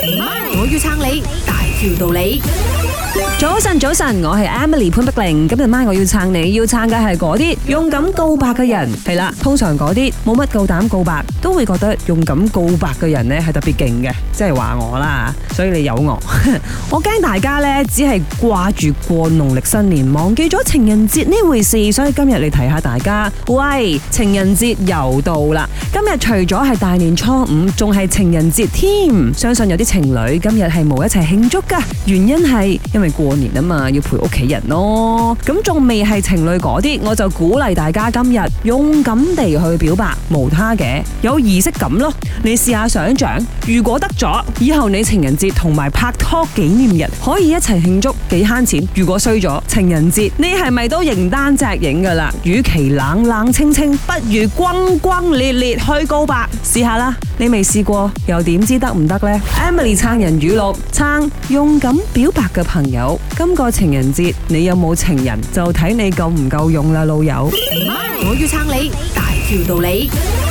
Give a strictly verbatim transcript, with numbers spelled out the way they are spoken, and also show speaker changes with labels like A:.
A: 我要撐你，大條道理。
B: 早晨，早晨，我係 Emily 潘碧玲。今日晚我要撐你，要撐嘅係嗰啲勇敢告白嘅人。係啦，通常嗰啲冇乜夠膽告白，都會覺得勇敢告白嘅人呢係特別勁嘅，即係話我啦。所以你有我，我驚大家呢只係掛住過農曆新年，忘記咗情人節呢回事。所以今日嚟提下大家，喂，情人節又到啦！今日除咗係大年初五，仲係情人節添。相信有啲情侶今日係冇一齊慶祝噶，原因係因為過年啊嘛，要陪屋企人咯。咁仲未係情侶嗰啲，我就鼓勵大家今日勇敢地去表白，無他嘅，有儀式感咯。你試下想象，如果得咗，以後你情人節同埋拍拖紀念日可以一齊慶祝，幾慳錢。如果衰咗情人節，你係咪都形單隻影噶啦？與其冷冷清清，不如轟轟烈烈去告白，試下啦。你未試過，又點知得唔得呢？ Emily 撐人語錄，撐勇敢表白嘅朋友。今個情人節你有冇情人，就睇你夠唔夠勇啦，老友。
A: 我要撐你，大條道理。